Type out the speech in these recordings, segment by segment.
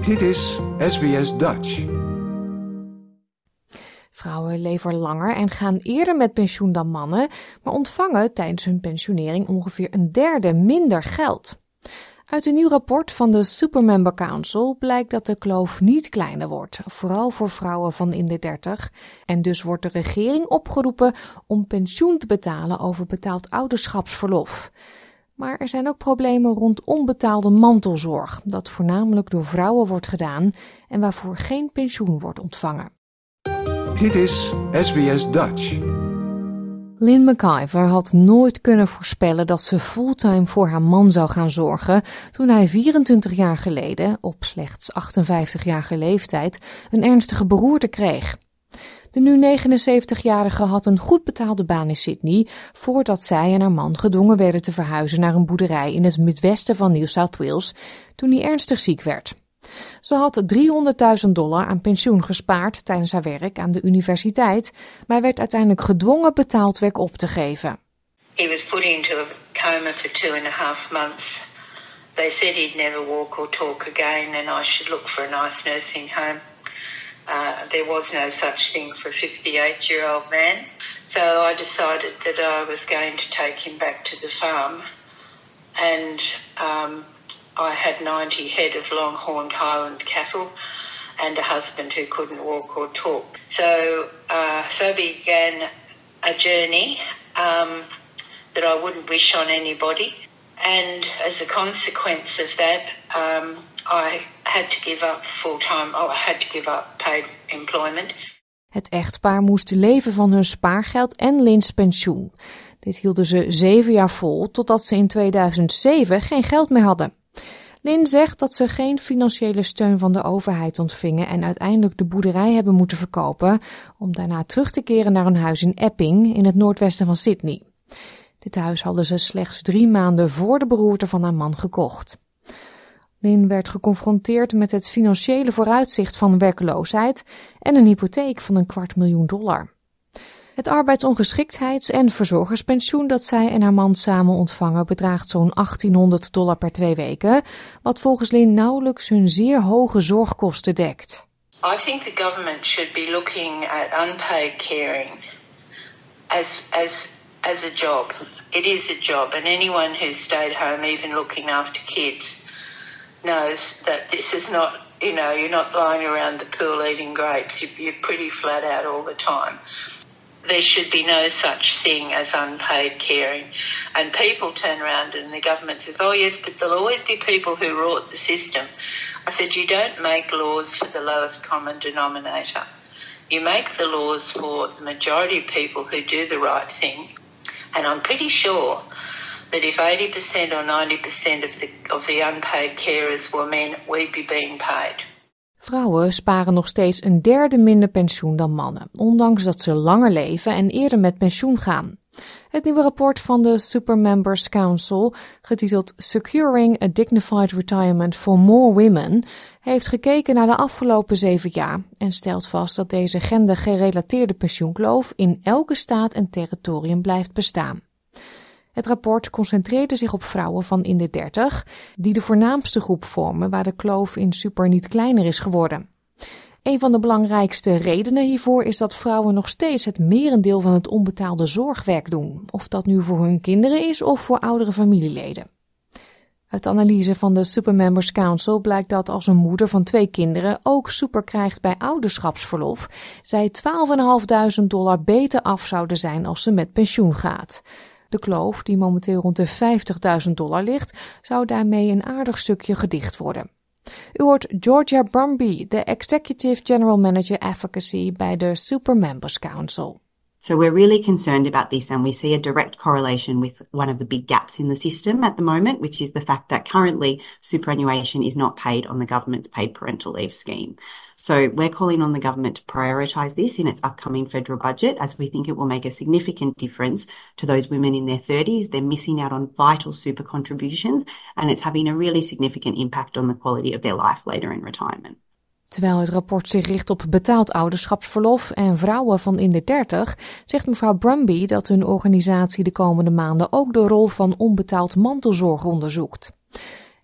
Dit is SBS Dutch. Vrouwen leven langer en gaan eerder met pensioen dan mannen, maar ontvangen tijdens hun pensionering ongeveer een derde minder geld. Uit een nieuw rapport van de Supermember Council blijkt dat de kloof niet kleiner wordt, vooral voor vrouwen van in de 30. En dus wordt de regering opgeroepen om pensioen te betalen over betaald ouderschapsverlof. Maar er zijn ook problemen rond onbetaalde mantelzorg, dat voornamelijk door vrouwen wordt gedaan en waarvoor geen pensioen wordt ontvangen. Dit is SBS Dutch. Lynn McIver had nooit kunnen voorspellen dat ze fulltime voor haar man zou gaan zorgen toen hij 24 jaar geleden, op slechts 58-jarige leeftijd, een ernstige beroerte kreeg. De nu 79-jarige had een goed betaalde baan in Sydney voordat zij en haar man gedwongen werden te verhuizen naar een boerderij in het midwesten van New South Wales toen hij ernstig ziek werd. Ze had $300.000 aan pensioen gespaard tijdens haar werk aan de universiteit, maar werd uiteindelijk gedwongen betaald werk op te geven. He was put into a coma for 2.5 months. They said he'd never walk or talk again and I should look for a nice nursing home. There was no such thing for a 58-year-old man. So I decided that I was going to take him back to the farm and I had 90 head of long-horned Highland cattle and a husband who couldn't walk or talk. So began a journey that I wouldn't wish on anybody. And as a consequence of that, I had to give up full-time. I had to give up paid employment. Het echtpaar moest leven van hun spaargeld en Lynn's pensioen. Dit hielden ze 7 jaar vol, totdat ze in 2007 geen geld meer hadden. Lynn zegt dat ze geen financiële steun van de overheid ontvingen en uiteindelijk de boerderij hebben moeten verkopen om daarna terug te keren naar een huis in Epping in het noordwesten van Sydney. Dit huis hadden ze slechts 3 maanden voor de beroerte van haar man gekocht. Lynn werd geconfronteerd met het financiële vooruitzicht van werkloosheid en een hypotheek van $250.000. Het arbeidsongeschiktheids- en verzorgerspensioen dat zij en haar man samen ontvangen bedraagt zo'n $1.800 per 2 weken, wat volgens Lynn nauwelijks hun zeer hoge zorgkosten dekt. I think the government should be looking at unpaid caring as a job. It is a job, and anyone who's stayed home, even looking after kids, knows that this is not, you're not lying around the pool eating grapes. You're pretty flat out all the time. There should be no such thing as unpaid caring. And people turn around and the government says, oh yes, but there'll always be people who rort the system. I said, you don't make laws for the lowest common denominator. You make the laws for the majority of people who do the right thing. And I'm pretty sure that if 80% or 90% of the unpaid carers were men, we'd be being paid. Vrouwen sparen nog steeds een derde minder pensioen dan mannen, ondanks dat ze langer leven en eerder met pensioen gaan. Het nieuwe rapport van de Supermembers Council, getiteld Securing a Dignified Retirement for More Women, heeft gekeken naar de afgelopen 7 jaar en stelt vast dat deze gendergerelateerde pensioenkloof in elke staat en territorium blijft bestaan. Het rapport concentreerde zich op vrouwen van in de 30, die de voornaamste groep vormen waar de kloof in super niet kleiner is geworden. Een van de belangrijkste redenen hiervoor is dat vrouwen nog steeds het merendeel van het onbetaalde zorgwerk doen, of dat nu voor hun kinderen is of voor oudere familieleden. Uit de analyse van de Supermembers Council blijkt dat als een moeder van 2 kinderen ook super krijgt bij ouderschapsverlof, zij $12.500 beter af zouden zijn als ze met pensioen gaat. De kloof, die momenteel rond de $50.000 ligt, zou daarmee een aardig stukje gedicht worden. U hoort Georgia Brumby, de Executive General Manager Advocacy bij de Supermembers Council. So we're really concerned about this and we see a direct correlation with one of the big gaps in the system at the moment, which is the fact that currently superannuation is not paid on the government's paid parental leave scheme. So we're calling on the government to prioritise this in its upcoming federal budget as we think it will make a significant difference to those women in their 30s. They're missing out on vital super contributions and it's having a really significant impact on the quality of their life later in retirement. Terwijl het rapport zich richt op betaald ouderschapsverlof en vrouwen van in de 30, zegt mevrouw Brumby dat hun organisatie de komende maanden ook de rol van onbetaald mantelzorg onderzoekt.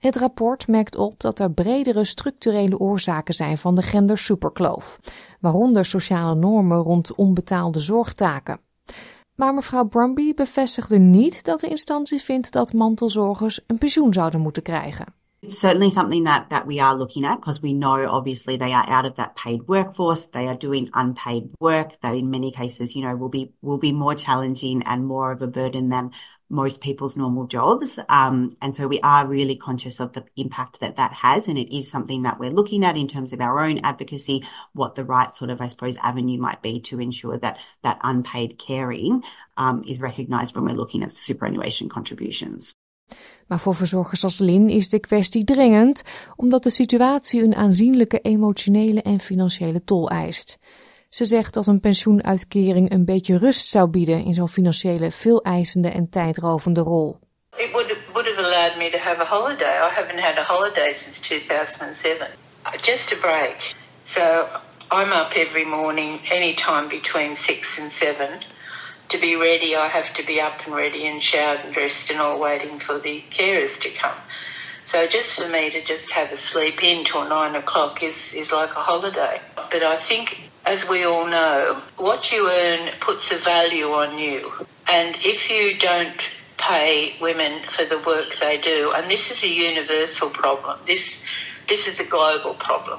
Het rapport merkt op dat er bredere structurele oorzaken zijn van de gendersuperkloof, waaronder sociale normen rond onbetaalde zorgtaken. Maar mevrouw Brumby bevestigde niet dat de instantie vindt dat mantelzorgers een pensioen zouden moeten krijgen. It's certainly something that we are looking at because we know obviously they are out of that paid workforce. They are doing unpaid work that in many cases, will be more challenging and more of a burden than most people's normal jobs. And so we are really conscious of the impact that has, and it is something that we're looking at in terms of our own advocacy, what the right sort of, I suppose, avenue might be to ensure that unpaid caring is recognised when we're looking at superannuation contributions. Maar voor verzorgers als Lynn is de kwestie dringend, omdat de situatie een aanzienlijke emotionele en financiële tol eist. Ze zegt dat een pensioenuitkering een beetje rust zou bieden in zo'n financiële, veel-eisende en tijdrovende rol. It would have allowed me to have a holiday. I haven't had a holiday since 2007. Just a break. So I'm up every morning, anytime between 6 and 7. To be ready, I have to be up and ready and showered and dressed and all waiting for the carers to come. So just for me to just have a sleep in till 9 o'clock is like a holiday. But I think, as we all know, what you earn puts a value on you. And if you don't pay women for the work they do, and this is a universal problem, this is a global problem.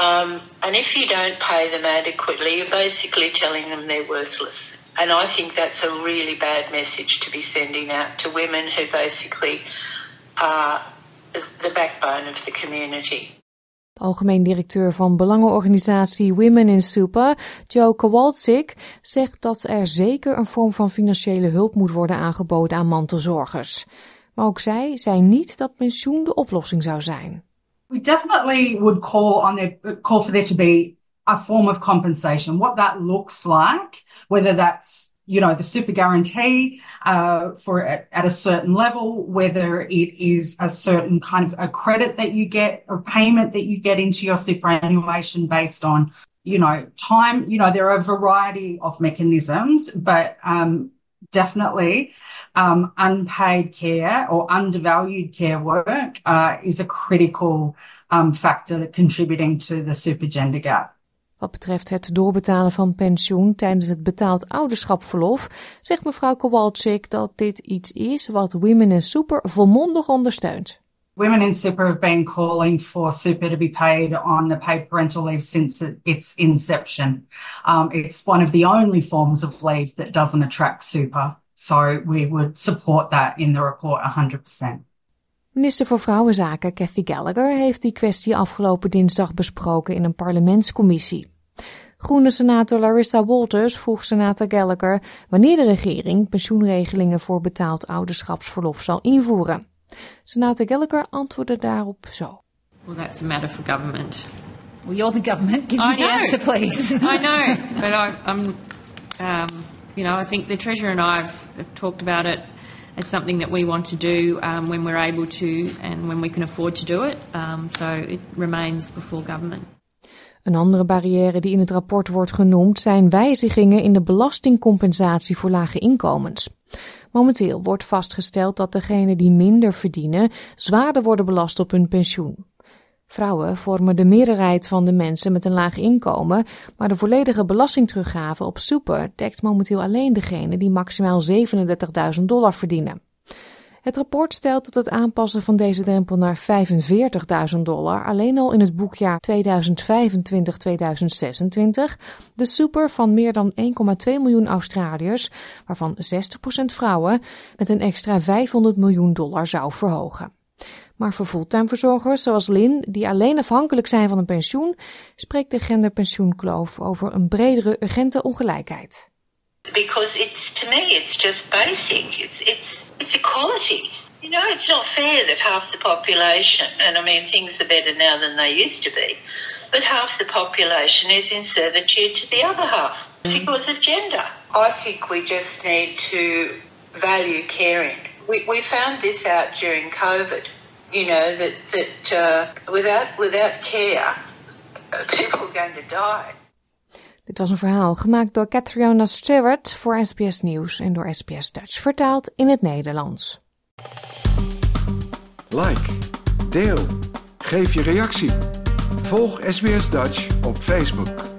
And if you don't pay them adequately, you're basically telling them they're worthless. And I think that's a really bad message to be sending out to women who basically are the backbone of the community. De algemeen directeur van belangenorganisatie Women in Super, Jo Kowalczyk, zegt dat er zeker een vorm van financiële hulp moet worden aangeboden aan mantelzorgers. Maar ook zij zei niet dat pensioen de oplossing zou zijn. We definitely would call for there to be a form of compensation. What that looks like, whether that's the super guarantee at a certain level, whether it is a certain kind of a credit that you get, or payment that you get into your superannuation based on, time. There are a variety of mechanisms, but definitely unpaid care or undervalued care work is a critical factor contributing to the super gender gap. Wat betreft het doorbetalen van pensioen tijdens het betaald ouderschapsverlof, zegt mevrouw Kowalczyk dat dit iets is wat Women in Super volmondig ondersteunt. Women in Super have been calling for super to be paid on the paid parental leave since its inception. It's one of the only forms of leave that doesn't attract super. So we would support that in the report 100%. Minister voor Vrouwenzaken Cathy Gallagher heeft die kwestie afgelopen dinsdag besproken in een parlementscommissie. Groene senator Larissa Walters vroeg senator Gallagher wanneer de regering pensioenregelingen voor betaald ouderschapsverlof zal invoeren. Senator Gallagher antwoordde daarop zo. Well, that's a matter for government. Well, you're the government. Give me the answer, please. I know, but I think the Treasurer and I have talked about it as something that we want to do when we're able to and when we can afford to do it. So it remains before government. Een andere barrière die in het rapport wordt genoemd zijn wijzigingen in de belastingcompensatie voor lage inkomens. Momenteel wordt vastgesteld dat degenen die minder verdienen zwaarder worden belast op hun pensioen. Vrouwen vormen de meerderheid van de mensen met een laag inkomen, maar de volledige belastingteruggave op super dekt momenteel alleen degenen die maximaal $37.000 verdienen. Het rapport stelt dat het aanpassen van deze drempel naar $45.000 alleen al in het boekjaar 2025-2026 de super van meer dan 1,2 miljoen Australiërs, waarvan 60% vrouwen, met een extra $500 miljoen zou verhogen. Maar voor fulltime verzorgers zoals Lynn, die alleen afhankelijk zijn van een pensioen, spreekt de genderpensioenkloof over een bredere urgente ongelijkheid. Because to me it's just basic. It's equality. It's not fair that half the population, and I mean things are better now than they used to be, but half the population is in servitude to the other half because of gender. I think we just need to value caring. We found this out during COVID. That without care, people are going to die. Dit was een verhaal gemaakt door Catriona Stewart voor SBS Nieuws en door SBS Dutch, vertaald in het Nederlands. Like, Deel. Geef je reactie. Volg SBS Dutch op Facebook.